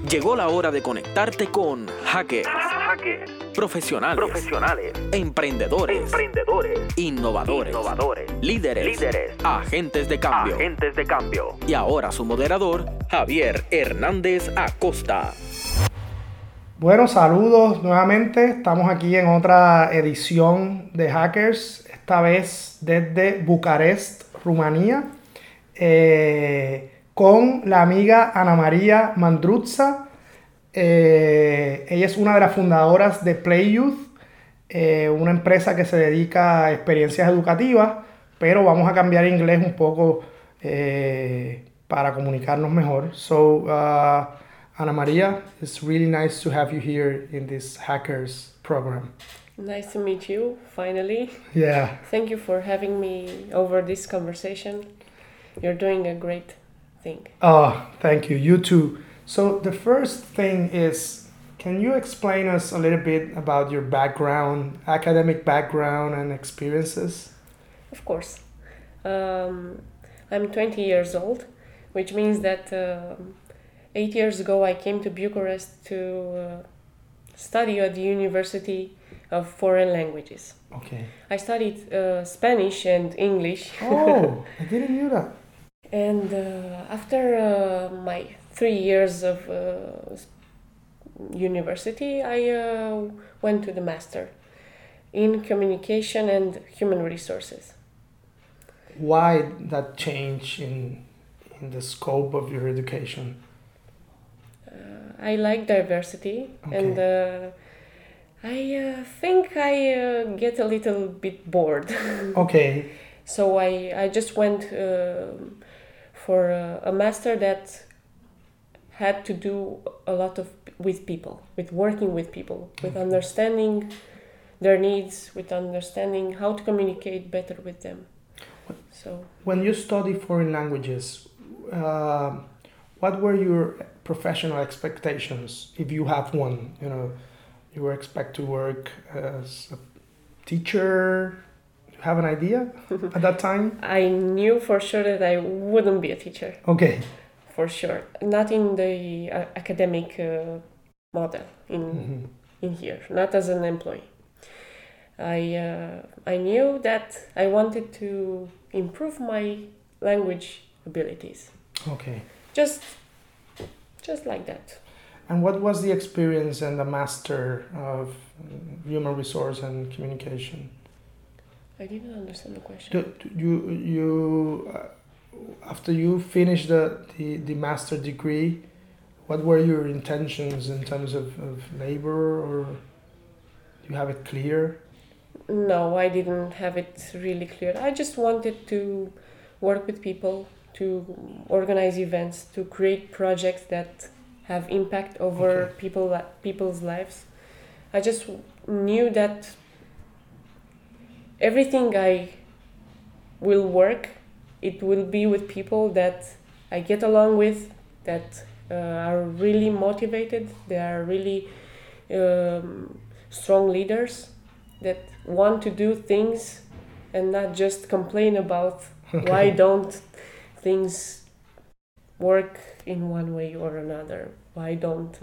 Llegó la hora de conectarte con hackers, profesionales, emprendedores, innovadores, líderes, agentes de cambio. Y ahora su moderador, Javier Hernández Acosta. Bueno, saludos nuevamente. Estamos aquí en otra edición de Hackers, esta vez desde Bucarest, Rumanía, con la amiga Ana María Mandruzza. Ella es una de las fundadoras de Play Youth, una empresa que se dedica a experiencias educativas, pero vamos a cambiar inglés un poco para comunicarnos mejor. Ana Maria, it's really nice to have you here in this Hackers program. Nice to meet you, finally. Yeah. Thank you for having me over this conversation. You're doing a great thing. Oh, thank you. You too. So the first thing is, can you explain us a little bit about your background, academic background and experiences? Of course. I'm 20 years old, which means that 8 years ago I came to Bucharest to study at the University of Foreign Languages. Okay. I studied Spanish and English. Oh, I didn't know that. And after my 3 years of university, I went to the master in communication and human resources. Why that change in the scope of your education? I like diversity, Okay. and I think I get a little bit bored. Okay. So I just went for a master that had to do a lot with people, with working with people, with understanding their needs, with understanding how to communicate better with them. So when you study foreign languages, what were your professional expectations, if you have one? You know, you were expect to work as a teacher. Do you have an idea at that time? I knew for sure that I wouldn't be a teacher. Okay. For sure, not in the academic model in here, not as an employee. I knew that I wanted to improve my language abilities. Okay. Just like that. And what was the experience and the master of human resource and communication? I didn't understand the question. You after you finished the master degree, what were your intentions in terms of labor, or do you have it clear? No, I didn't have it really clear. I just wanted to work with people, to organize events, to create projects that have impact over people's lives. I just knew that everything I will work, it will be with people that I get along with, that are really motivated, they are really strong leaders, that want to do things and not just complain about why don't things work in one way or another. Why don't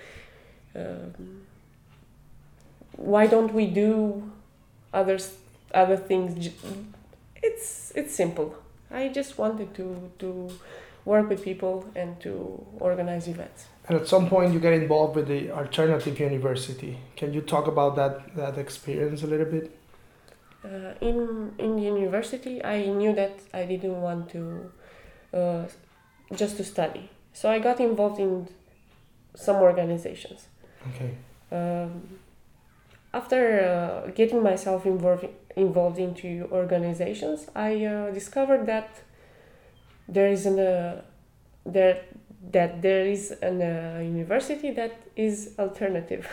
we do other things? It's simple. I just wanted to work with people and to organize events. And at some point you get involved with the alternative university. Can you talk about that experience a little bit? In the university, I knew that I didn't want to just to study. So I got involved in some organizations. Okay. After getting myself involved into organizations, I discovered that there is a university that is alternative.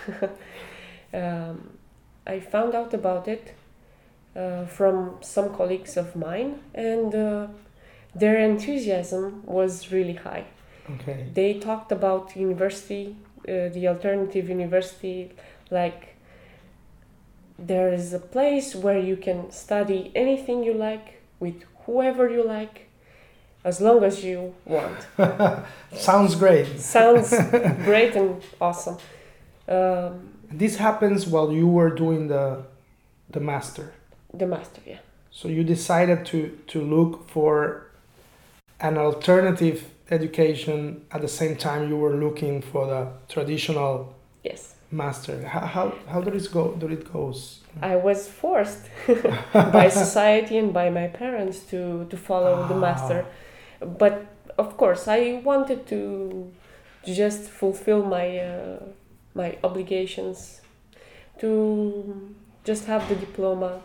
I found out about it from some colleagues of mine, and their enthusiasm was really high. Okay. They talked about university, the alternative university, like there is a place where you can study anything you like with whoever you like, as long as you want. Sounds great. Sounds great and awesome. This happens while you were doing the master. The master, yeah. So you decided to look for an alternative education at the same time you were looking for the traditional Yes. master. How did it go? Did it goes? I was forced by society and by my parents to follow the master. But of course, I wanted to just fulfill my obligations, to just have the diploma.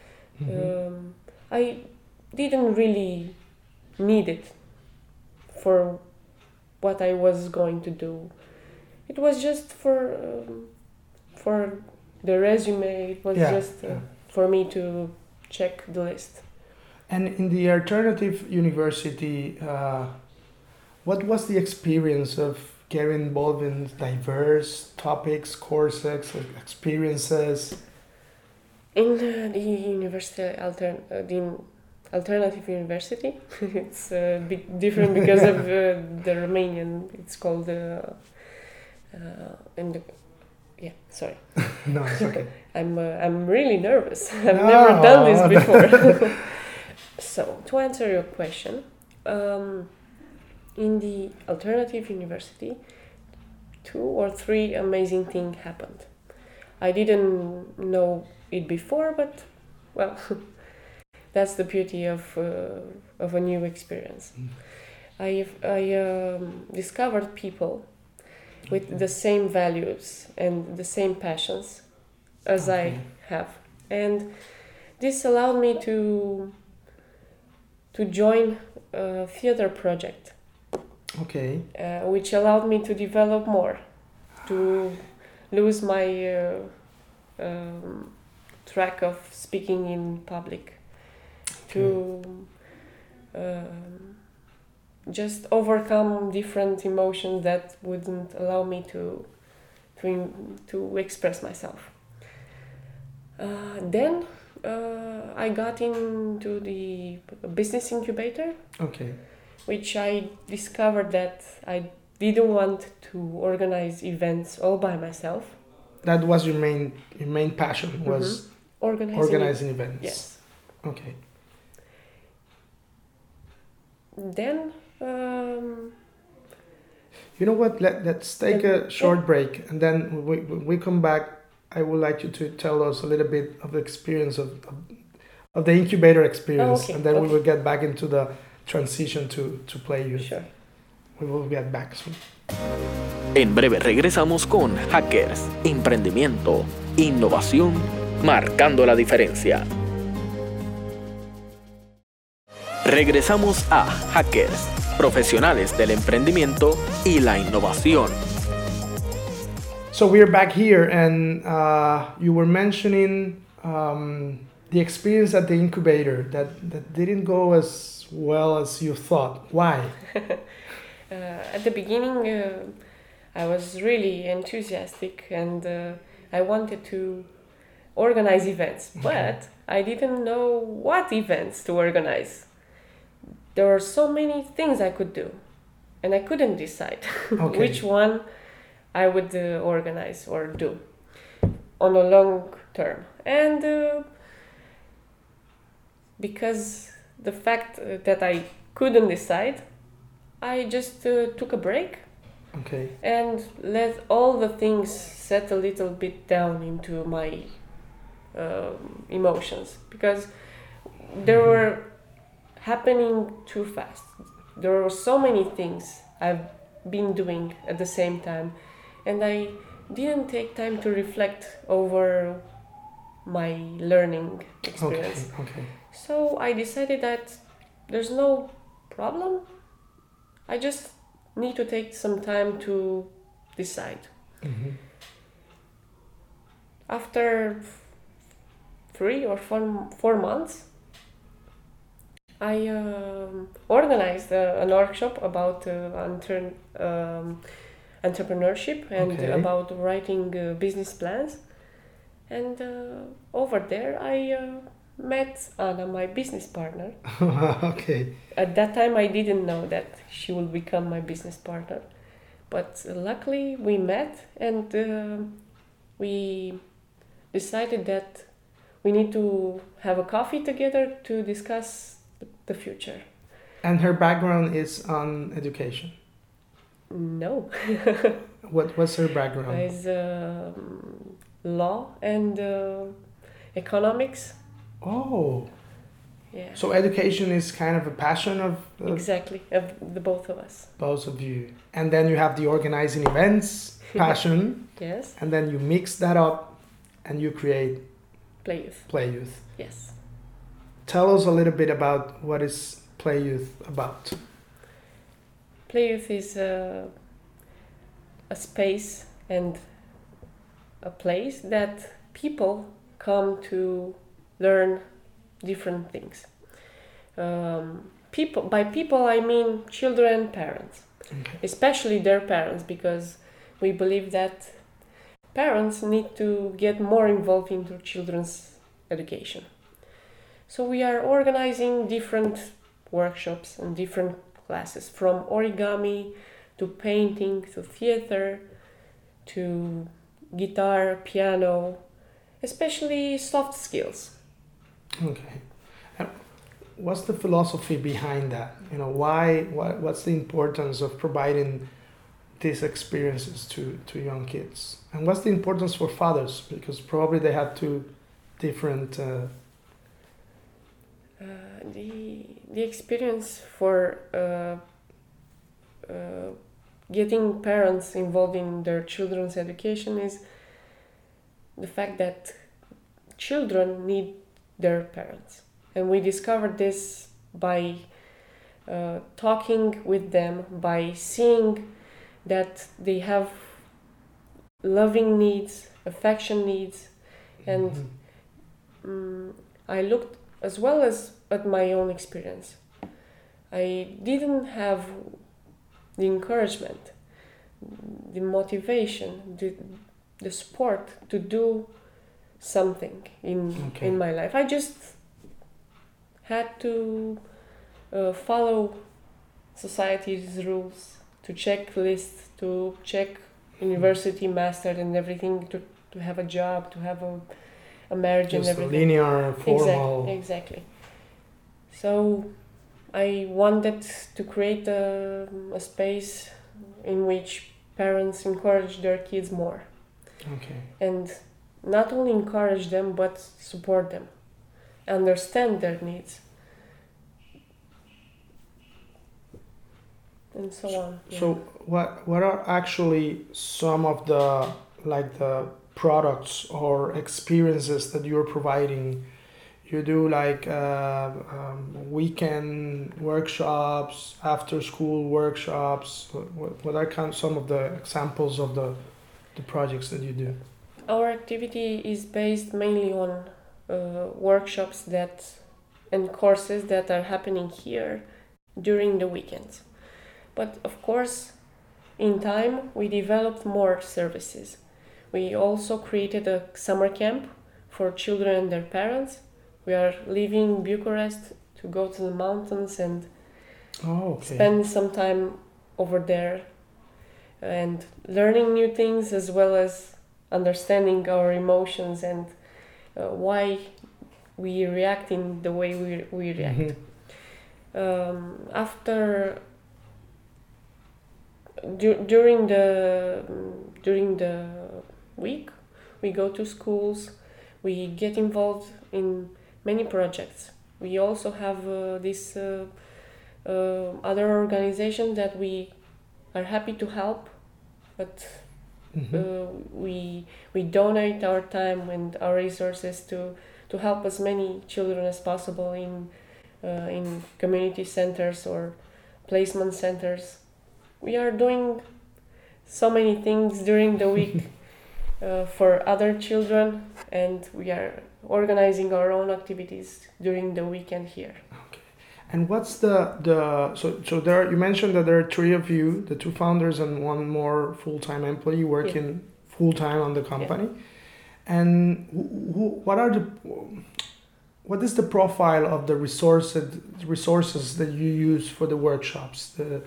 I didn't really need it for what I was going to do. It was just for the resume. It was just for me to check the list. And in the alternative university, what was the experience of getting involved in diverse topics, courses, experiences? In the university, the alternative university, it's a bit different because of the Romanian. It's called sorry. No, it's okay. I'm really nervous. I've never done this before. So, to answer your question, in the alternative university, 2 or 3 amazing things happened. I didn't know it before, but well, that's the beauty of a new experience. I discovered people with the same values and the same passions as I have, and this allowed me to join a theater project. Okay. Which allowed me to develop more, to lose my track of speaking in public, to just overcome different emotions that wouldn't allow me to express myself. Then I got into the business incubator. Okay. Which I discovered that I didn't want to organize events all by myself. That was your main passion, was organizing events. Yes. Okay. Then you know what? Let's take a short break, and then when we come back, I would like you to tell us a little bit of the experience of the incubator experience, and then we will get back into the transition to play youth. Sure. We will get back soon. En breve regresamos con Hackers, emprendimiento, innovación, marcando la diferencia. Regresamos a Hackers, profesionales del emprendimiento y la innovación. So we're back here, and you were mentioning the experience at the incubator that didn't go as well as you thought. Why? At the beginning, I was really enthusiastic and I wanted to organize events, but I didn't know what events to organize. There were so many things I could do, and I couldn't decide which one I would organize or do on a long term. And because the fact that I couldn't decide, I just took a break and let all the things set a little bit down into my emotions, because they were happening too fast. There were so many things I've been doing at the same time, and I didn't take time to reflect over my learning experience. Okay. So I decided that there's no problem. I just need to take some time to decide. After 3 or 4 months, I organized an workshop about entrepreneurship and about writing business plans. And over there, I met Anna, my business partner. Okay. At that time, I didn't know that she will become my business partner. But luckily, we met and we decided that we need to have a coffee together to discuss the future. And her background is on education. No. What's her background? Is law and economics. Oh, Yeah. so education is kind of a passion of Exactly, of the both of us. both of you. And then you have the organizing events passion, Yes. and then you mix that up and you create Play youth. Play Youth. Yes. Tell us a little bit about what is Play Youth about. Play youth is a space and a place that people come to learn different things. By people I mean children, parents, Okay. especially their parents, because we believe that parents need to get more involved into children's education. So we are organizing different workshops and different classes, from origami to painting to theater to guitar, piano, especially soft skills. Okay. And what's the philosophy behind that? You know, what's the importance of providing these experiences to young kids? And what's the importance for fathers? Because probably they have two different... The experience for getting parents involved in their children's education is the fact that children need their parents, and we discovered this by talking with them, by seeing that they have loving needs, affection needs, and I looked as well as at my own experience. I didn't have the encouragement, the motivation, the support to do something in my life. I just had to follow society's rules, to check lists, to check university master and everything, to have a job, to have a marriage just and everything. Linear, formal. Exactly. So I wanted to create a space in which parents encourage their kids more. Okay. And not only encourage them, but support them, understand their needs, and so on. So what are actually some of the products or experiences that you're providing? You do weekend workshops, after school workshops. What are some of the examples of the projects that you do? Our activity is based mainly on workshops and courses that are happening here during the weekends. But of course, in time, we developed more services. We also created a summer camp for children and their parents. We are leaving Bucharest to go to the mountains and spend some time over there and learning new things, as well as understanding our emotions and why we react in the way we react. During the week, we go to schools, we get involved in many projects. We also have this other organization that we are happy to help, but we donate our time and our resources to help as many children as possible in community centers or placement centers. We are doing so many things during the week for other children, and we are organizing our own activities during the weekend here. Okay. And what's so there you mentioned that there are three of you, the two founders and one more full-time employee working full-time on the company. And what are what is the profile of the resources that you use for the workshops? The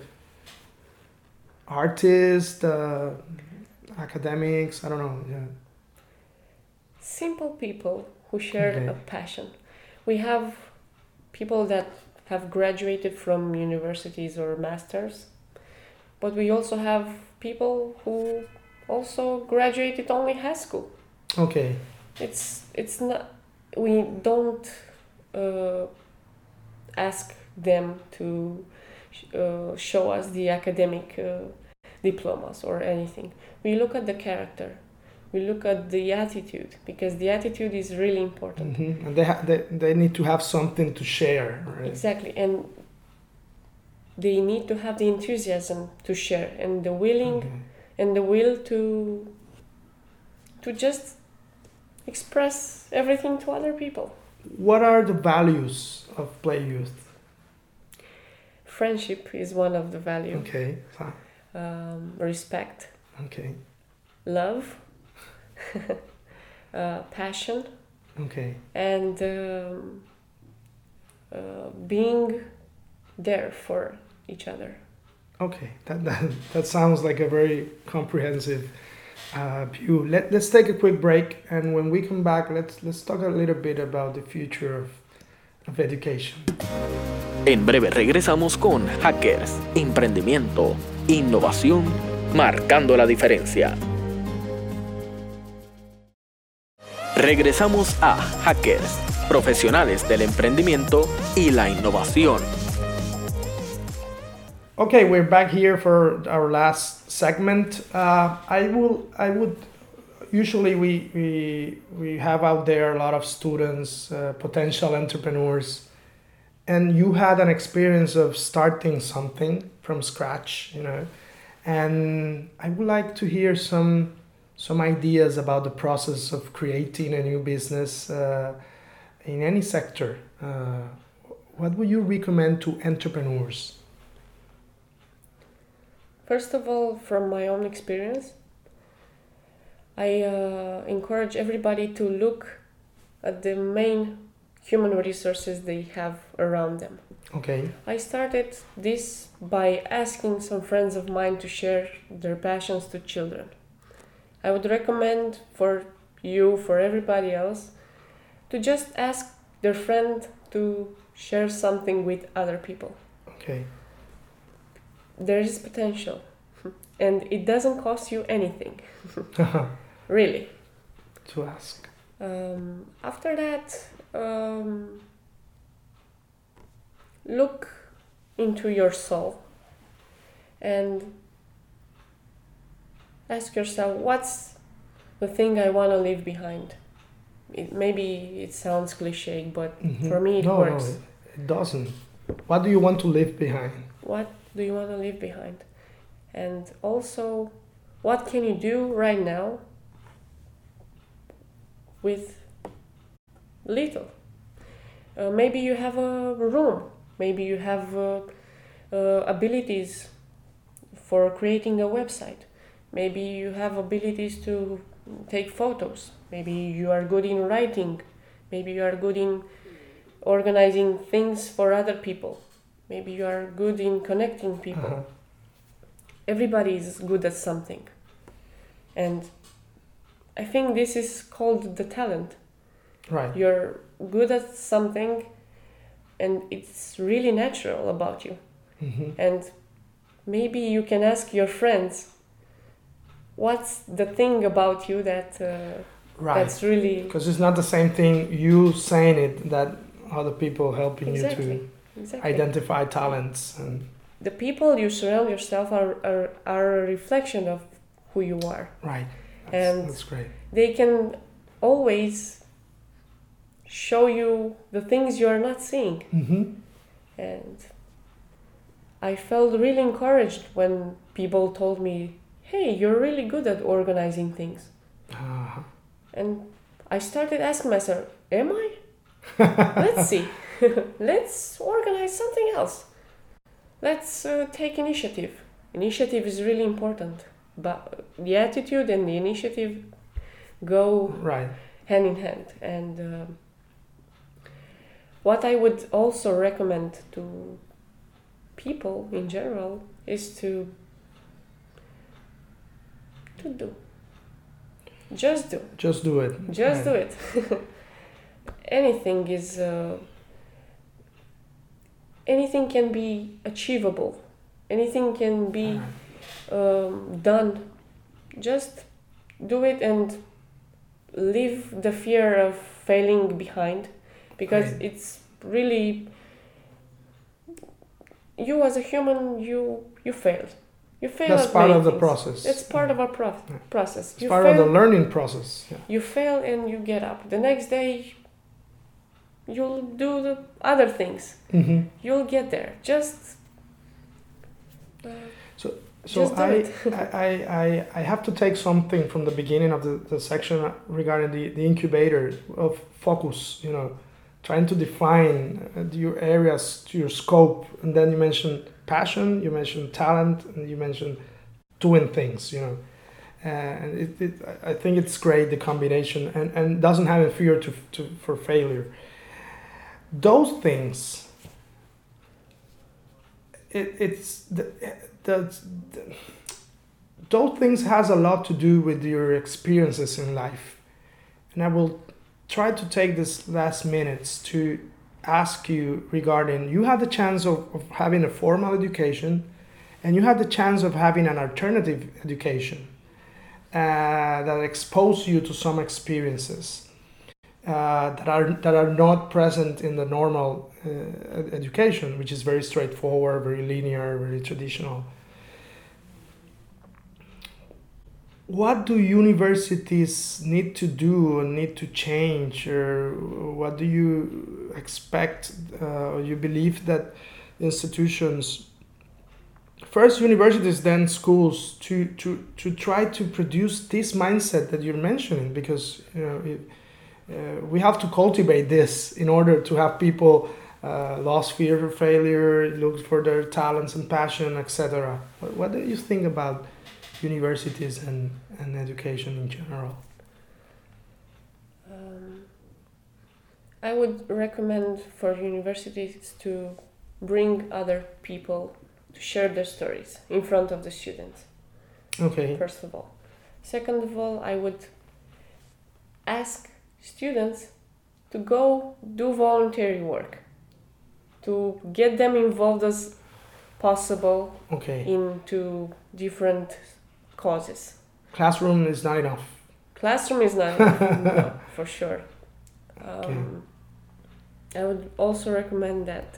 artists, the academics, I don't know. Yeah. Simple people who share Okay. a passion. We have people that have graduated from universities or masters, but we also have people who also graduated only high school. Okay. It's not, we don't ask them to show us the academic diplomas or anything. We look at the character, we look at the attitude, because the attitude is really important. Mm-hmm. And they need to have something to share, right? Exactly, and they need to have the enthusiasm to share and the willing Okay. and the will to just express everything to other people. What are the values of Play Youth? Friendship is one of the values. Okay. Respect, Okay. love, passion, Okay. and being there for each other. Okay. That sounds like a very comprehensive view. Let's take a quick break, and when we come back, let's talk a little bit about the future of education. En breve regresamos con Hackers, Emprendimiento, Innovación, marcando la diferencia. Regresamos a Hackers, profesionales del emprendimiento y la innovación. Okay, we're back here for our last segment. I would usually we have out there a lot of students, potential entrepreneurs, and you had an experience of starting something from scratch, you know, and I would like to hear some ideas about the process of creating a new business in any sector. What would you recommend to entrepreneurs? First of all, from my own experience, I encourage everybody to look at the main human resources they have around them. Okay. I started this by asking some friends of mine to share their passions to children. I would recommend for you, for everybody else, to just ask their friend to share something with other people. Okay. There is potential, and it doesn't cost you anything, really. To ask. After that, look into your soul and ask yourself, what's the thing I want to leave behind? Maybe it sounds cliche, but for me it works. No, it doesn't. What do you want to leave behind? What do you want to leave behind? And also, what can you do right now with little? Maybe you have a room, maybe you have abilities for creating a website, maybe you have abilities to take photos, maybe you are good in writing, maybe you are good in organizing things for other people, maybe you are good in connecting people. Everybody is good at something, and I think this is called the talent. Right. You're good at something and it's really natural about you. And maybe you can ask your friends, what's the thing about you that Right. that's really... Because it's not the same thing you saying it that other people helping Exactly. you to Exactly. identify talents. And The people you surround yourself are a reflection of who you are. right. And That's great. they can always show you the things you are not seeing. And I felt really encouraged when people told me, hey, you're really good at organizing things. And I started asking myself, am I? Let's see. Let's organize something else. Let's take initiative. Initiative is really important, but the attitude and the initiative go Right. hand in hand. And what I would also recommend to people in general is to do. Just do. Just do it. Just do it. Anything anything can be achievable. Anything can be done. Just do it and leave the fear of failing behind, because Right. it's really, you as a human, you fail. You fail. That's at part many of the things. process. It's part of our process. It's part of the learning process. Yeah. You fail and you get up. The next day, you'll do the other things. Mm-hmm. You'll get there. Just So Just do I have to take something from the beginning of the section regarding the incubator of focus, trying to define your areas to your scope. And then you mentioned passion, you mentioned talent, and you mentioned doing things, and I think it's great, the combination, and doesn't have a fear for failure. Those things, those things has a lot to do with your experiences in life. And I will try to take this last minutes to ask you regarding, you had the chance of having a formal education, and you had the chance of having an alternative education that exposed you to some experiences that are not present in the normal education, which is very straightforward, very linear, very traditional. What do universities need to do or need to change, or what do you expect? You believe that institutions, first universities, then schools, to try to produce this mindset that you're mentioning, because we have to cultivate this in order to have people lost fear of failure, look for their talents and passion, etc. What do you think about universities and education in general? I would recommend for universities to bring other people to share their stories in front of the students. Okay. First of all. Second of all, I would ask students to go do voluntary work, to get them involved as possible into different causes. Classroom is not enough. Classroom is not enough, no, for sure. I would also recommend that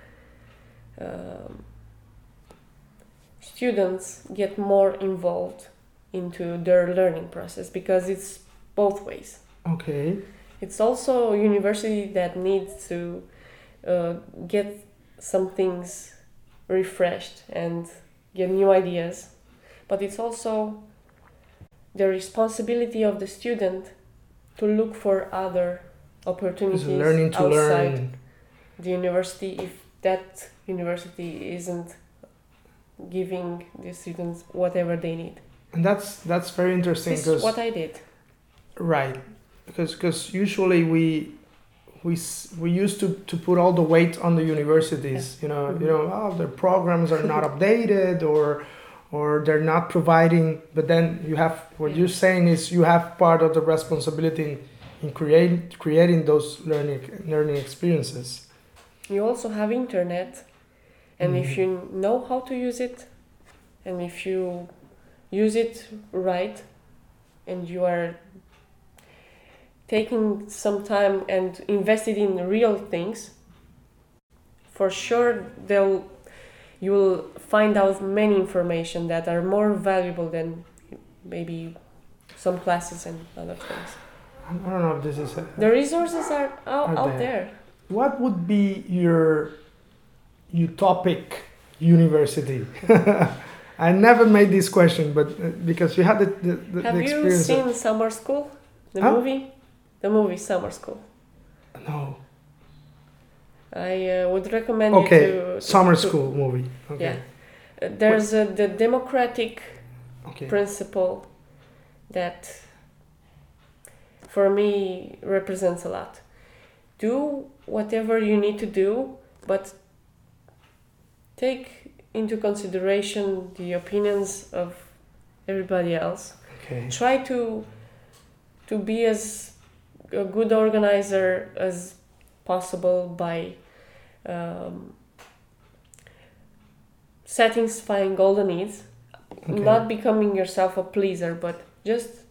students get more involved into their learning process, because it's both ways. Okay. It's also a university that needs to get some things refreshed and get new ideas, but it's also the responsibility of the student to look for other opportunities outside the university if that university isn't giving the students whatever they need. And that's very interesting. This is what I did. Right, because usually we used to put all the weight on the universities. Mm-hmm. Their programs are not updated or they're not providing. But then you have what you're saying is you have part of the responsibility in creating those learning experiences. You also have internet, and if you know how to use it, and if you use it right, and you are taking some time and invested in real things, for sure you will find out many information that are more valuable than maybe some classes and other things. I don't know if this is... The resources are out there. What would be your utopic university? I never made this question, but because you had the Have experience. Have you seen Summer School? The movie? The movie Summer School. No. I would recommend you to... Summer School movie. Okay. Yeah. There's the democratic principle that for me represents a lot. do whatever you need to do, but take into consideration the opinions of everybody else. Okay. Try to be as a good organizer as possible by satisfying all the needs, not becoming yourself a pleaser, but just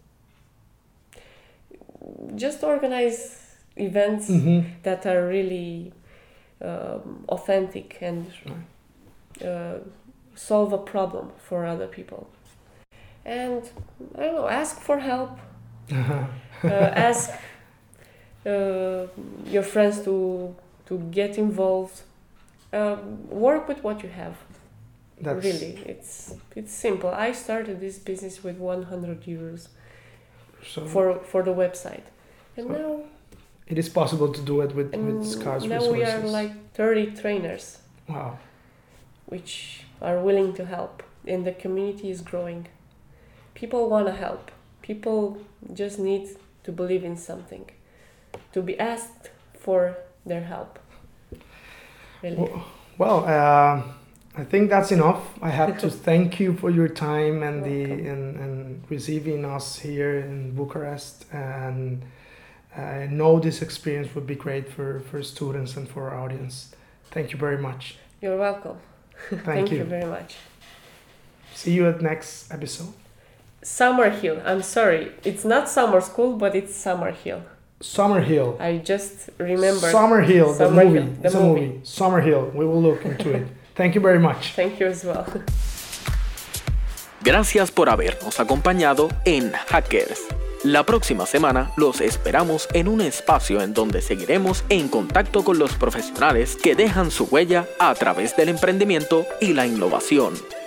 organize events that are really authentic and solve a problem for other people. And I don't know, ask for help. Ask your friends to get involved. Work with what you have. Really, it's simple. I started this business with 100 euros for the website, and now it is possible to do it with scarce now resources. We are like 30 trainers. Wow. Which are willing to help, and the community is growing. People want to help. People just need to believe in something, to be asked for their help. Really. Well, I think that's enough. I have to thank you for your time and and receiving us here in Bucharest. And I know this experience would be great for students and for our audience. Thank you very much. You're welcome. Thank you very much. See you at next episode. Summerhill. I'm sorry. It's not summer school, but it's Summerhill. Summerhill. I just remembered. Summerhill, the movie. It's a movie. movie. Summerhill. We will look into it. Thank you very much. Thank you as well. Gracias por habernos acompañado en Hackers. La próxima semana los esperamos en un espacio en donde seguiremos en contacto con los profesionales que dejan su huella a través del emprendimiento y la innovación.